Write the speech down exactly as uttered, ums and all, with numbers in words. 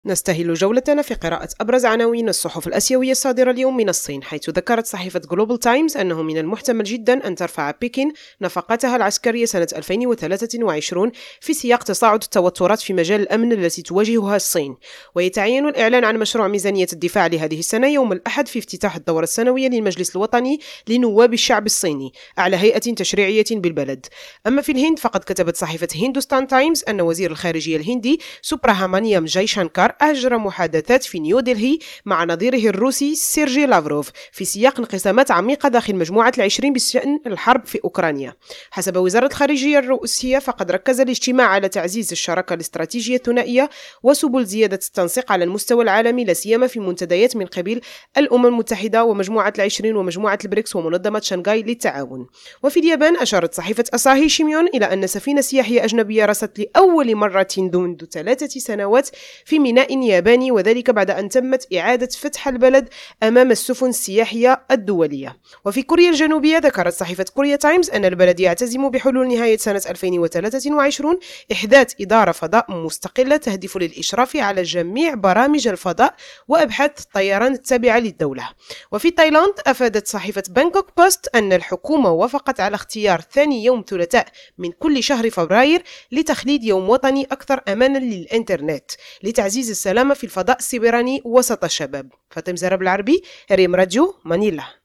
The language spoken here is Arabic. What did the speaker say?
نستهل جولتنا في قراءة أبرز عناوين الصحف الآسيوية الصادرة اليوم من الصين، حيث ذكرت صحيفة جلوبال تايمز أنه من المحتمل جدا أن ترفع بكين نفقاتها العسكرية سنة ألفين وثلاثة وعشرين في سياق تصاعد التوترات في مجال الأمن التي تواجهها الصين. ويتعين الإعلان عن مشروع ميزانية الدفاع لهذه السنة يوم الأحد في افتتاح الدورة السنوية للمجلس الوطني لنواب الشعب الصيني أعلى هيئة تشريعية بالبلد. أما في الهند فقد كتبت صحيفة هندوستان تايمز أن وزير الخارجية الهندي سوبراهامانيام جايشانكار أجرى محادثات في نيودلهي مع نظيره الروسي سيرجي لافروف في سياق انقسامات عميقة داخل مجموعة العشرين بشأن الحرب في أوكرانيا. حسب وزارة الخارجية الروسية فقد ركز الاجتماع على تعزيز الشراكة الاستراتيجية الثنائية وسبل زيادة التنسيق على المستوى العالمي، لا سيما في منتديات من قبيل الأمم المتحدة ومجموعة العشرين ومجموعة البريكس ومنظمة شنغاي للتعاون. وفي اليابان أشارت صحيفة أساهي شيميون إلى أن سفينة سياحية أجنبية رست لأول مرة منذ ثلاثة سنوات في ميناء ياباني، وذلك بعد أن تمت إعادة فتح البلد أمام السفن السياحية الدولية. وفي كوريا الجنوبية ذكرت صحيفة كوريا تايمز أن البلد يعتزم بحلول نهاية سنة ألفين وثلاثة وعشرين إحداث إدارة فضاء مستقلة تهدف للإشراف على جميع برامج الفضاء وأبحاث الطيران التابعة للدولة. وفي تايلاند أفادت صحيفة بانكوك بوست أن الحكومة وافقت على اختيار ثاني يوم ثلاثاء من كل شهر فبراير لتخليد يوم وطني أكثر أمانا للإنترنت لتعزيز السلامة في الفضاء السيبراني وسط الشباب. فاطمة زهرة بالعربي، ريم راديو، مانيلا.